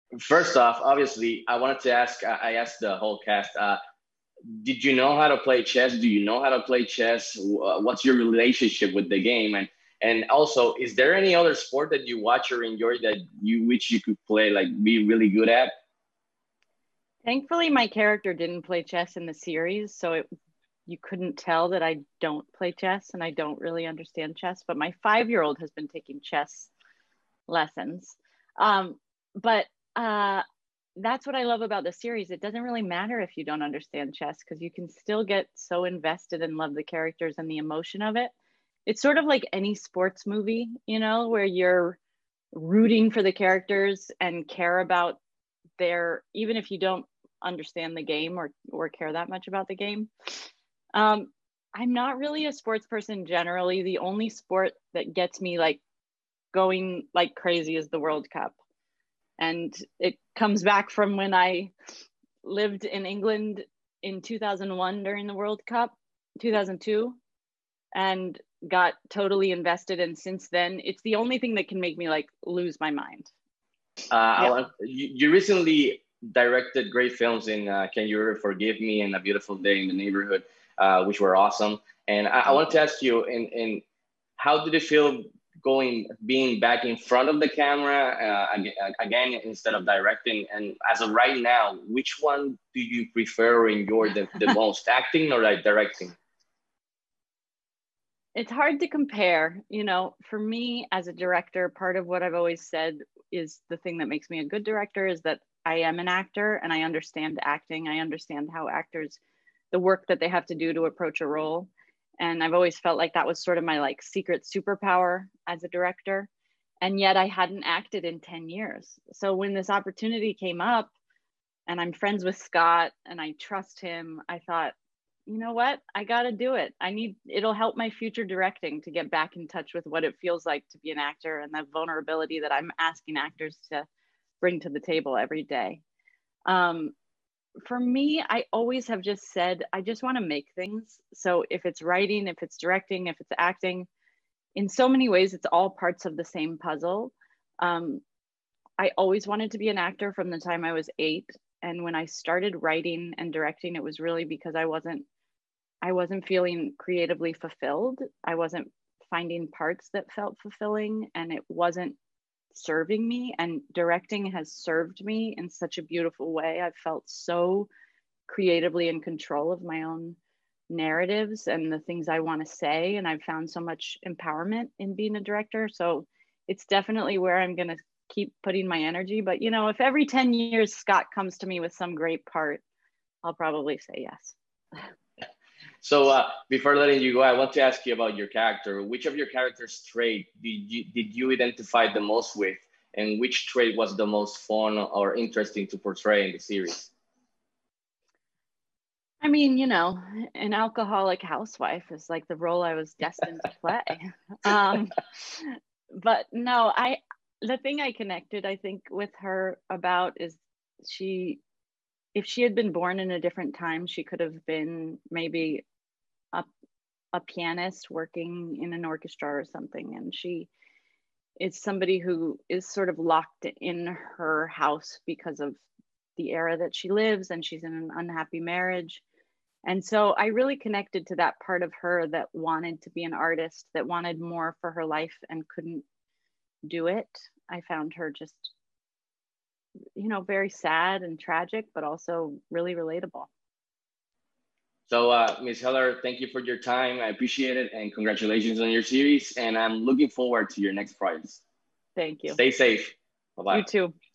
First off, obviously, I wanted to ask. I asked the whole cast. Did you know how to play chess? Do you know how to play chess? What's your relationship with the game? And also, is there any other sport that you watch or enjoy that you wish you could play, like be really good at? Thankfully, my character didn't play chess in the series, so you couldn't tell that I don't play chess and I don't really understand chess. But my 5-year-old has been taking chess lessons. But that's what I love about the series. It doesn't really matter if you don't understand chess because you can still get so invested and love the characters and the emotion of it. It's sort of like any sports movie, where you're rooting for the characters and care about even if you don't understand the game or care that much about the game. I'm not really a sports person generally. The only sport that gets me like going like crazy is the World Cup. And it comes back from when I lived in England in 2001 during the World Cup, 2002, and got totally invested. And since then, it's the only thing that can make me like lose my mind. Yeah. You recently directed great films in Can You Ever Forgive Me and A Beautiful Day in the Neighborhood, which were awesome. And I Thank want to you. ask you, in how did it feel being back in front of the camera again instead of directing? And as of right now, which one do you prefer or enjoy the most, acting or like directing? It's hard to compare. For me as a director, part of what I've always said is the thing that makes me a good director is that I am an actor and I understand acting. I understand how actors, the work that they have to do to approach a role. And I've always felt like that was sort of my like secret superpower as a director. And yet I hadn't acted in 10 years. So when this opportunity came up and I'm friends with Scott and I trust him, I thought, you know what? I got to do it. It'll help my future directing to get back in touch with what it feels like to be an actor and the vulnerability that I'm asking actors to bring to the table every day. For me, I always have just said, I just want to make things. So if it's writing, if it's directing, if it's acting, in so many ways, it's all parts of the same puzzle. I always wanted to be an actor from the time I was 8. And when I started writing and directing, it was really because I wasn't feeling creatively fulfilled. I wasn't finding parts that felt fulfilling and it wasn't serving me. And directing has served me in such a beautiful way. I've felt so creatively in control of my own narratives and the things I want to say. And I've found so much empowerment in being a director. So it's definitely where I'm going to keep putting my energy. But, if every 10 years Scott comes to me with some great part, I'll probably say yes. So before letting you go, I want to ask you about your character. Which of your character's trait did you identify the most with, and which trait was the most fun or interesting to portray in the series? I mean, an alcoholic housewife is like the role I was destined to play. um, but no, the thing I connected, I think, with her about is she, if she had been born in a different time, she could have been maybe a, a pianist working in an orchestra or something. And she is somebody who is sort of locked in her house because of the era that she lives, and she's in an unhappy marriage. And so I really connected to that part of her that wanted to be an artist, that wanted more for her life and couldn't do it. I found her just, very sad and tragic, but also really relatable. So, Ms. Heller, thank you for your time. I appreciate it, and congratulations on your series. And I'm looking forward to your next projects. Thank you. Stay safe. Bye You bye. too.